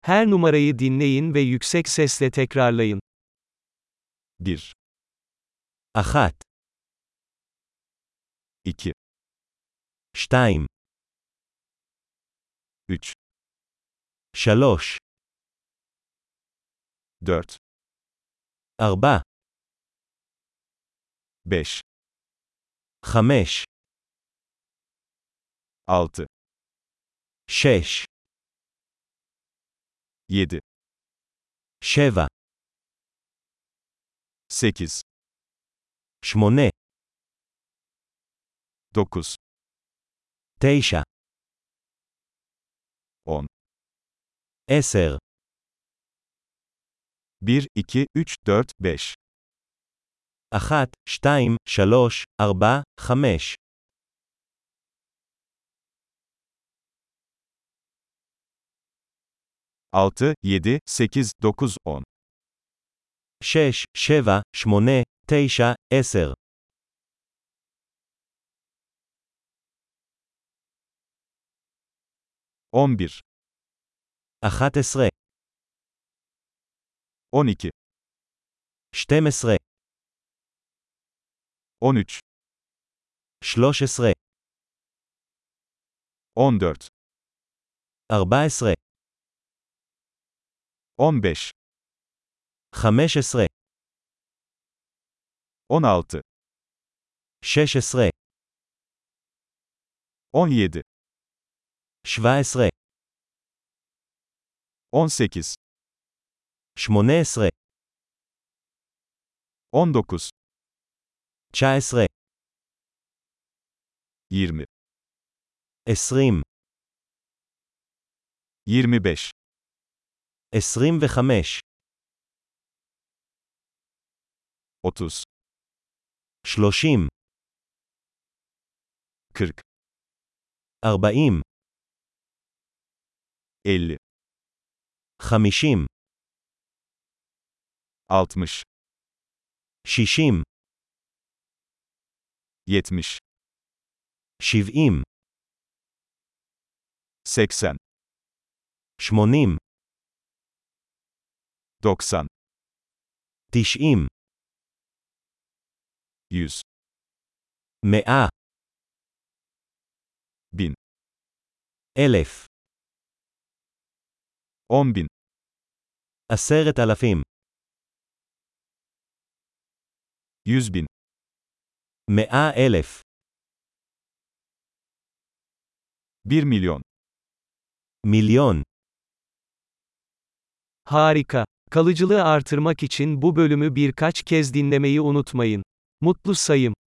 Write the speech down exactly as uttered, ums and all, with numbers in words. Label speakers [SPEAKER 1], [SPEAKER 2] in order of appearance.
[SPEAKER 1] Her numarayı dinleyin ve yüksek sesle tekrarlayın.
[SPEAKER 2] bir,
[SPEAKER 3] אחת,
[SPEAKER 2] iki,
[SPEAKER 3] שתיים,
[SPEAKER 2] üç,
[SPEAKER 3] שלוש,
[SPEAKER 2] dört,
[SPEAKER 3] ארבע,
[SPEAKER 2] beş,
[SPEAKER 3] חמש,
[SPEAKER 2] altı,
[SPEAKER 3] שש,
[SPEAKER 2] yedi,
[SPEAKER 3] שבע,
[SPEAKER 2] sekiz,
[SPEAKER 3] שמונה,
[SPEAKER 2] dokuz,
[SPEAKER 3] תשע,
[SPEAKER 2] on,
[SPEAKER 3] עשר,
[SPEAKER 2] bir, iki, üç, dört, beş,
[SPEAKER 3] אחת, שתיים, שלוש, ארבע, חמש,
[SPEAKER 2] altı, yedi, sekiz, dokuz, on,
[SPEAKER 3] שש, שבע, שמונה, תשע, עשר,
[SPEAKER 2] on bir,
[SPEAKER 3] אחת עשרה,
[SPEAKER 2] on iki,
[SPEAKER 3] שתים עשרה,
[SPEAKER 2] on üç,
[SPEAKER 3] שלוש עשרה,
[SPEAKER 2] on dört,
[SPEAKER 3] ארבע עשרה,
[SPEAKER 2] on beş,
[SPEAKER 3] חמש עשרה,
[SPEAKER 2] on altı,
[SPEAKER 3] שש עשרה,
[SPEAKER 2] on yedi,
[SPEAKER 3] שבע עשרה,
[SPEAKER 2] on sekiz,
[SPEAKER 3] שמונה עשרה,
[SPEAKER 2] on dokuz,
[SPEAKER 3] תשע עשרה,
[SPEAKER 2] yirmi,
[SPEAKER 3] עשרים,
[SPEAKER 2] yirmi beş,
[SPEAKER 3] עשרים וחמש,
[SPEAKER 2] otuz,
[SPEAKER 3] שלושים,
[SPEAKER 2] kırk,
[SPEAKER 3] ארבעים,
[SPEAKER 2] elli,
[SPEAKER 3] חמישים,
[SPEAKER 2] altmış,
[SPEAKER 3] שישים,
[SPEAKER 2] yetmiş,
[SPEAKER 3] שבעים,
[SPEAKER 2] seksen,
[SPEAKER 3] שמונים,
[SPEAKER 2] doksan,
[SPEAKER 3] תשעים,
[SPEAKER 2] yüz,
[SPEAKER 3] מאה,
[SPEAKER 2] bin,
[SPEAKER 3] אלף,
[SPEAKER 2] on bin,
[SPEAKER 3] עשרת אלפים,
[SPEAKER 2] yüz bin,
[SPEAKER 3] מאה אלף,
[SPEAKER 2] bir milyon.
[SPEAKER 3] מיליון.
[SPEAKER 1] Harika. Kalıcılığı artırmak için bu bölümü birkaç kez dinlemeyi unutmayın. Mutlu sayım.